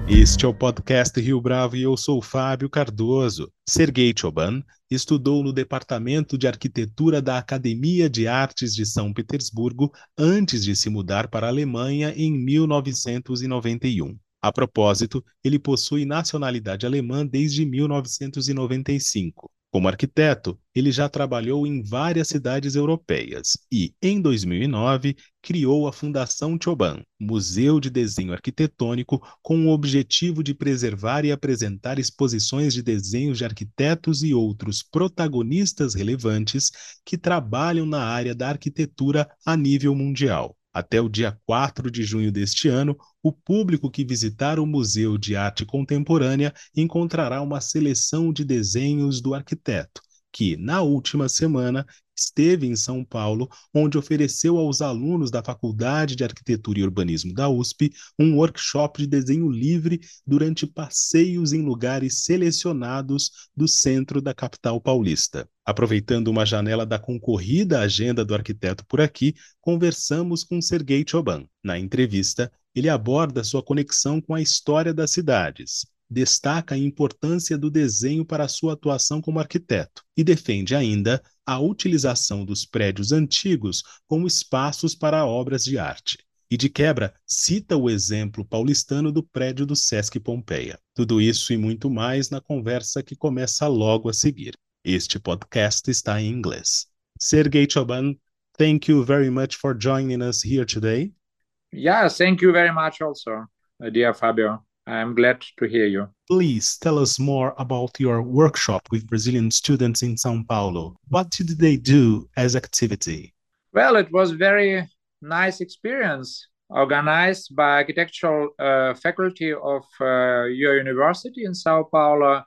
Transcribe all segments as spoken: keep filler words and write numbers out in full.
Este é o podcast Rio Bravo e eu sou Fábio Cardoso. Sergei Choban estudou no Departamento de Arquitetura da Academia de Artes de São Petersburgo antes de se mudar para a Alemanha em mil novecentos e noventa e um. A propósito, ele possui nacionalidade alemã desde mil novecentos e noventa e cinco. Como arquiteto, ele já trabalhou em várias cidades europeias e, em dois mil e nove, criou a Fundação Choban, Museu de Desenho Arquitetônico, com o objetivo de preservar e apresentar exposições de desenhos de arquitetos e outros protagonistas relevantes que trabalham na área da arquitetura a nível mundial. Até o dia quatro de junho deste ano, o público que visitar o Museu de Arte Contemporânea encontrará uma seleção de desenhos do arquiteto, que, na última semana, esteve em São Paulo, onde ofereceu aos alunos da Faculdade de Arquitetura e Urbanismo da U S P um workshop de desenho livre durante passeios em lugares selecionados do centro da capital paulista. Aproveitando uma janela da concorrida agenda do arquiteto por aqui, conversamos com Sergei Choban. Na entrevista, ele aborda sua conexão com a história das cidades, destaca a importância do desenho para a sua atuação como arquiteto e defende ainda a utilização dos prédios antigos como espaços para obras de arte. E de quebra, cita o exemplo paulistano do prédio do Sesc Pompeia. Tudo isso e muito mais na conversa que começa logo a seguir. Este podcast está em inglês. Sergei Choban, thank you very much for joining us here today. Yeah, thank you very much also, uh, dear Fabio. I'm glad to hear you. Please tell us more about your workshop with Brazilian students in São Paulo. What did they do as activity? Well, it was very nice experience organized by architectural uh, faculty of uh, your university in Sao Paulo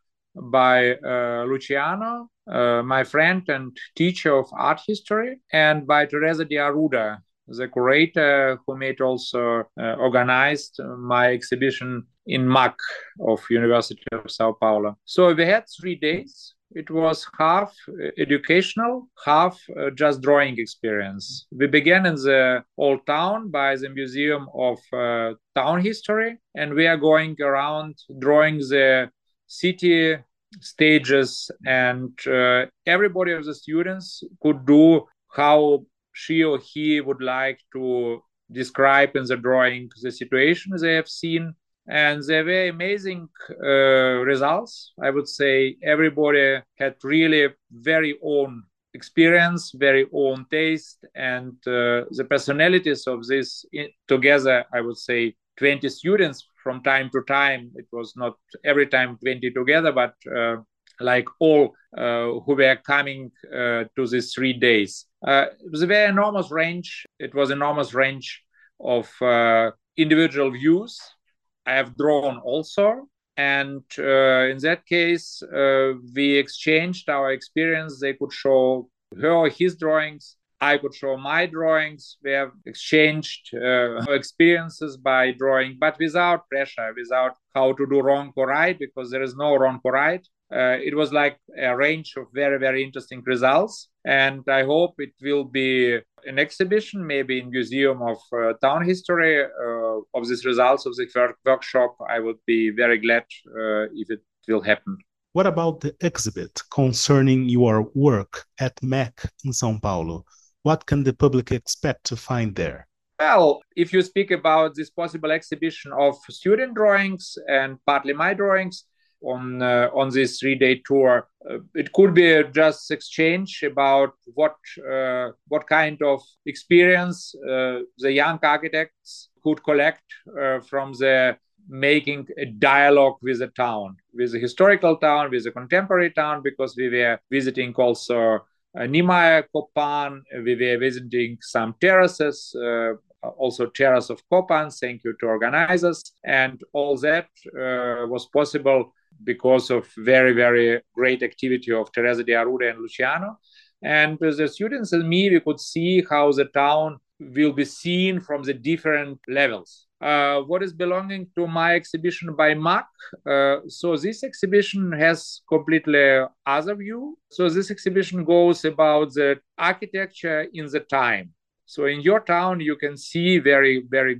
by uh, Luciano, uh, my friend and teacher of art history, and by Teresa de Arruda, the curator who made also uh, organized my exhibition in M A C of University of Sao Paulo. So we had three days. It was half educational, half uh, just drawing experience. We began in the old town by the Museum of uh, Town History, and we are going around drawing the city stages, and uh, everybody of the students could do how she or he would like to describe in the drawing the situation they have seen. And they were amazing uh, results. I would say everybody had really very own experience, very own taste, and uh, the personalities of this in, together, I would say twenty students from time to time. It was not every time twenty together, but uh, like all uh, who were coming uh, to these three days. Uh, it was a very enormous range. It was enormous range of uh, individual views. I have drawn also. And uh, in that case, uh, we exchanged our experience. They could show her or his drawings. I could show my drawings. We have exchanged uh, experiences by drawing, but without pressure, without how to do wrong or right, because there is no wrong or right. Uh, it was like a range of very, very interesting results. And I hope it will be an exhibition, maybe in Museum of uh, Town History, uh, of these results of the workshop. I would be very glad uh, if it will happen. What about the exhibit concerning your work at M A C in São Paulo? What can the public expect to find there? Well, if you speak about this possible exhibition of student drawings and partly my drawings on uh, on this three-day tour, uh, it could be just exchange about what uh, what kind of experience uh, the young architects could collect uh, from the making a dialogue with the town, with the historical town, with the contemporary town, because we were visiting also uh, Niemeyer, Kopan, we were visiting some terraces, uh, also Terrace of Kopan, thank you to organizers. And all that uh, was possible because of very, very great activity of Teresa de Arruda and Luciano. And the students and me, we could see how the town will be seen from the different levels. Uh, what is belonging to my exhibition by M A C? Uh, so this exhibition has completely other view. So this exhibition goes about the architecture in the time. So in your town, you can see very, very good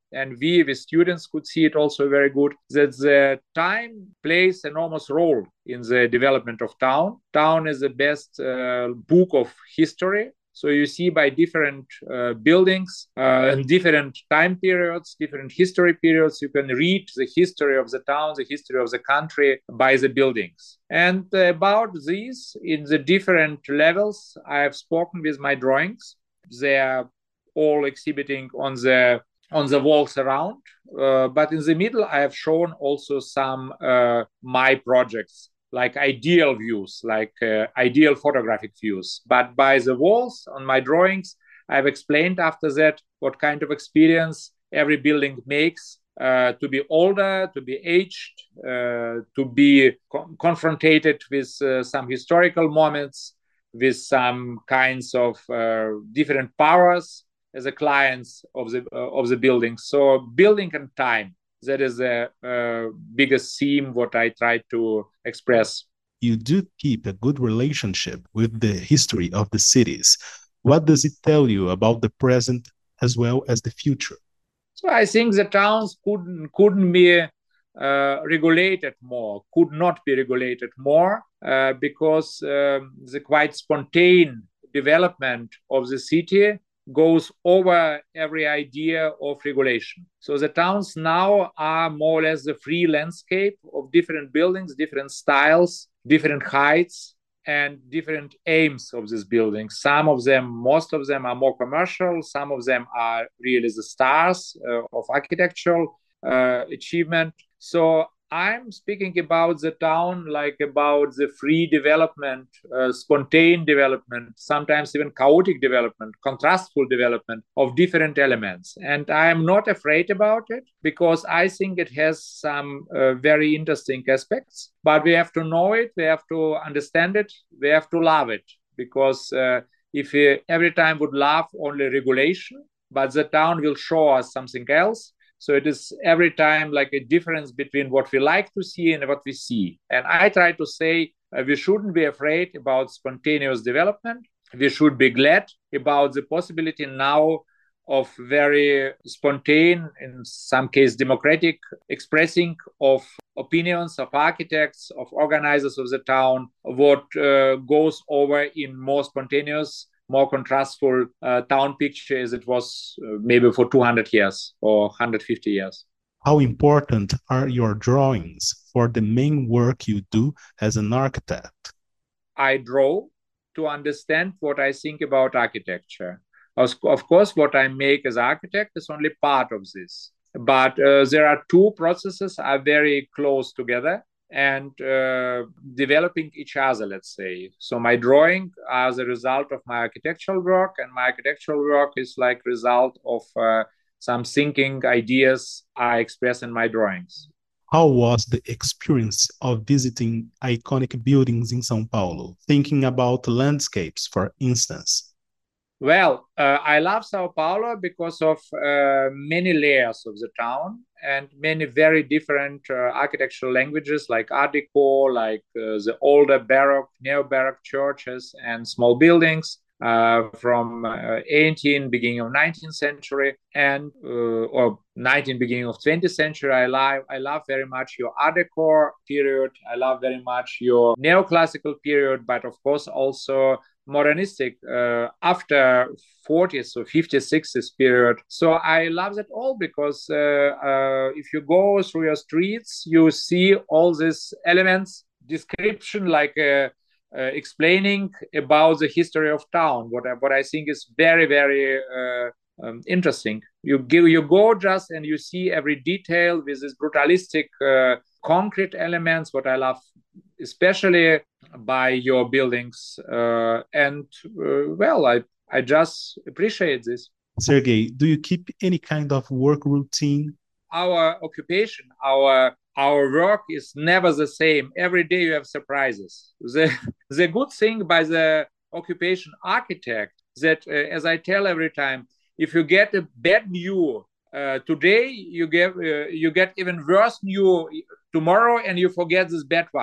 and we, the students, could see it also very good, that the time plays enormous role in the development of town. Town is the best uh, book of history. So you see by different uh, buildings uh, and different time periods, different history periods, you can read the history of the town, the history of the country by the buildings. And about these, in the different levels, I have spoken with my drawings. They are all exhibiting on the on the walls around. Uh, but in the middle, I have shown also some uh, my projects, like ideal views, like uh, ideal photographic views. But by the walls on my drawings, I've explained after that what kind of experience every building makes, uh, to be older, to be aged, uh, to be co- confronted with uh, some historical moments, with some kinds of uh, different powers as the clients of the, uh, of the building. So building and time, that is the uh, biggest theme what I try to express. You do keep a good relationship with the history of the cities. What does it tell you about the present as well as the future? So I think the towns couldn't, couldn't be uh, regulated more, could not be regulated more, uh, because um, the quite spontaneous development of the city goes over every idea of regulation. So the towns now are more or less the free landscape of different buildings, different styles, different heights, and different aims of these buildings. Some of them, most of them are more commercial. Some of them are really the stars uh, of architectural uh, achievement. So I'm speaking about the town like about the free development, uh, spontaneous development, sometimes even chaotic development, contrastful development of different elements. And I am not afraid about it because I think it has some uh, very interesting aspects. But we have to know it, we have to understand it, we have to love it. Because uh, if we every time would love only regulation, but the town will show us something else. So it is every time like a difference between what we like to see and what we see. And I try to say uh, we shouldn't be afraid about spontaneous development. We should be glad about the possibility now of very spontaneous, in some case democratic, expressing of opinions of architects, of organizers of the town, what uh, goes over in more spontaneous, more contrastful uh, town picture as it was uh, maybe for two hundred years or one hundred fifty years. How important are your drawings for the main work you do as an architect? I draw to understand what I think about architecture. Of course, what I make as architect is only part of this. But uh, there are two processes are very close together and uh, developing each other, let's say. So my drawing as a result of my architectural work, and my architectural work is like result of uh, some thinking ideas I express in my drawings. How was the experience of visiting iconic buildings in São Paulo, thinking about landscapes, for instance? Well, uh, I love Sao Paulo because of uh, many layers of the town and many very different uh, architectural languages like Art Deco, like uh, the older Baroque, neo-Baroque churches and small buildings uh, from uh, eighteenth, beginning of nineteenth century and uh, or nineteenth, beginning of twentieth century. I love, I love very much your Art Deco period. I love very much your neoclassical period, but of course also modernistic uh, after forties or fifties, sixties period. So I love that all because uh, uh, if you go through your streets, you see all these elements, description like uh, uh, explaining about the history of town, what I, what I think is very, very uh, um, interesting. You, give, you go just and you see every detail with this brutalistic uh, concrete elements, what I love especially by your buildings. Uh, and uh, well, I, I just appreciate this. Sergey, do you keep any kind of work routine? Our occupation, our our work is never the same. Every day you have surprises. The, the good thing by the occupation architect that, uh, as I tell every time, if you get a bad news uh, today, you get, uh, you get even worse news tomorrow and you forget this bad one.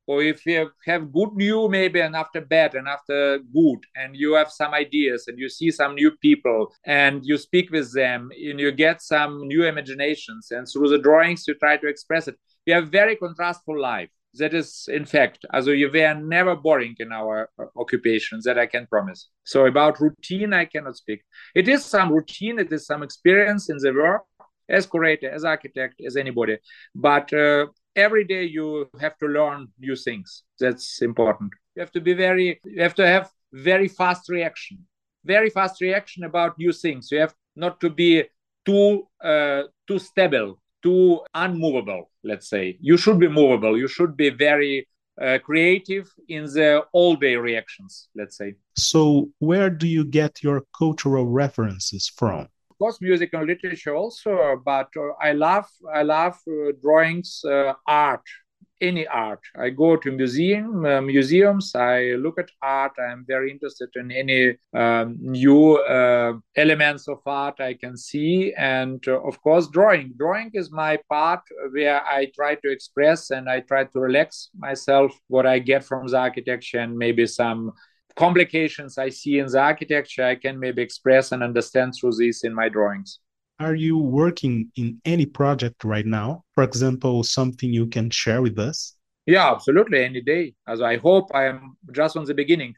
or if you have good new maybe and after bad and after good, and you have some ideas and you see some new people and you speak with them and you get some new imaginations, and through the drawings you try to express it. We have very contrastful life. That is, in fact, also we are never boring in our occupations, that I can promise. So about routine, I cannot speak. It is some routine, it is some experience in the work, as curator, as architect, as anybody. But uh, every day you have to learn new things. That's important. You have to be very, you have to have very fast reaction, very fast reaction about new things. You have not to be too, uh, too stable, too unmovable, let's say. You should be movable. You should be very uh, creative in the all-day reactions, let's say. So where do you get your cultural references from? Of course, music and literature also, but uh, I love I love uh, drawings, uh, art, any art. I go to museum uh, museums. I look at art. I'm very interested in any um, new uh, elements of art I can see, and uh, of course, drawing. Drawing is my part where I try to express and I try to relax myself what I get from the architecture, and maybe some complications I see in the architecture, I can maybe express and understand through this in my drawings. Are you working in any project right now? For example, something you can share with us? Yeah, absolutely, any day. As I hope I am just on the beginning.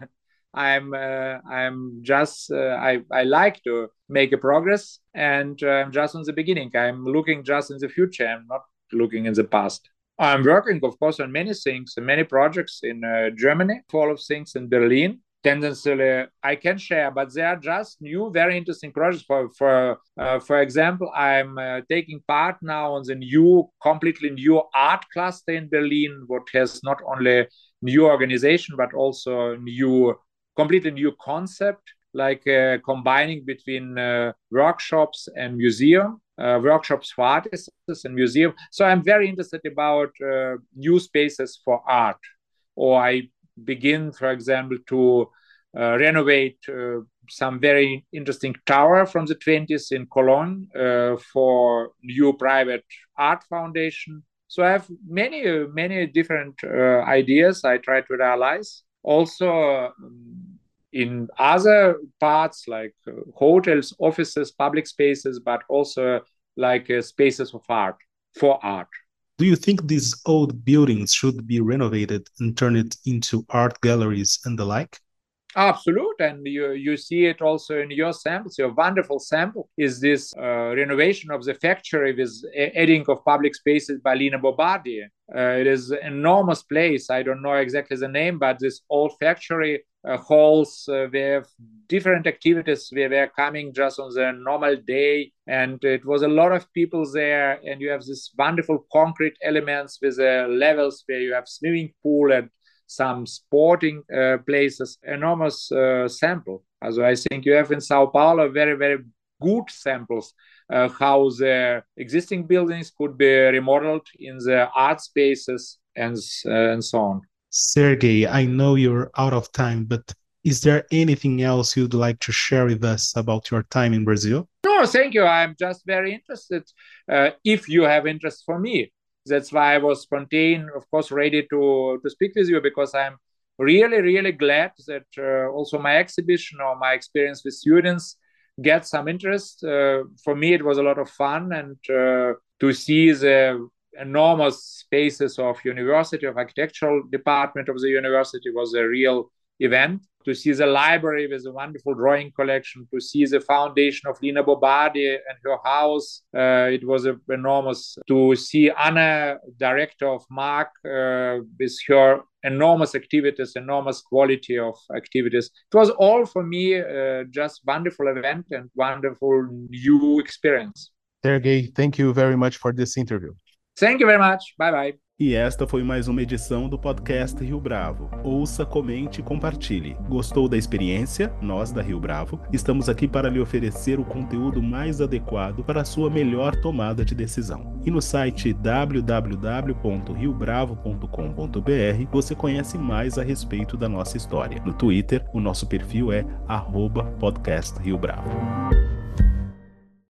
I'm uh, I'm just uh, I I like to make a progress, and uh, I'm just on the beginning. I'm looking just in the future. I'm not looking in the past. I'm working, of course, on many things, many projects in uh, Germany, full of things in Berlin. Tendenциally, I can share, but they are just new, very interesting projects. For for uh, for example, I'm uh, taking part now on the new, completely new art cluster in Berlin, what has not only new organization but also new, completely new concept, like uh, combining between uh, workshops and museum. Uh, workshops for artists and museum. So I'm very interested about uh, new spaces for art. Or I begin, for example, to uh, renovate uh, some very interesting tower from the twenties in Cologne uh, for new private art foundation. So I have many, many different uh, ideas I try to realize. Also, um, in other parts like uh, hotels, offices, public spaces, but also like uh, spaces of art, for art. Do you think these old buildings should be renovated and turned into art galleries and the like? Absolutely, and you, you see it also in your samples. Your wonderful sample is this uh, renovation of the factory with adding of public spaces by Lina Bobardi. Uh, it is an enormous place. I don't know exactly the name, but this old factory uh, halls, uh, we have different activities where we're coming just on the normal day, and it was a lot of people there, and you have this wonderful concrete elements with uh, levels where you have swimming pool and some sporting uh, places, enormous uh, sample. Also, I think you have in Sao Paulo very, very good samples uh, how the existing buildings could be remodeled in the art spaces and, uh, and so on. Sergey, I know you're out of time, but is there anything else you'd like to share with us about your time in Brazil? No, thank you. I'm just very interested. Uh, if you have interest for me, that's why I was spontaneous, of course, ready to, to speak with you, because I'm really, really glad that uh, also my exhibition or my experience with students get some interest. Uh, for me, it was a lot of fun, and uh, to see the enormous spaces of university, of architectural department of the university was a real event. To see the library with a wonderful drawing collection, to see the foundation of Lina Bobardi and her house, uh, it was a, enormous. To see Anna, director of Mark, uh, with her enormous activities, enormous quality of activities. It was all for me uh, just wonderful event and wonderful new experience. Sergey, thank you very much for this interview. Thank you very much. Bye bye. E esta foi mais uma edição do podcast Rio Bravo. Ouça, comente e compartilhe. Gostou da experiência? Nós, da Rio Bravo, estamos aqui para lhe oferecer o conteúdo mais adequado para a sua melhor tomada de decisão. E no site w w w ponto rio bravo ponto com ponto b r você conhece mais a respeito da nossa história. No Twitter, o nosso perfil é arroba podcast Rio Bravo.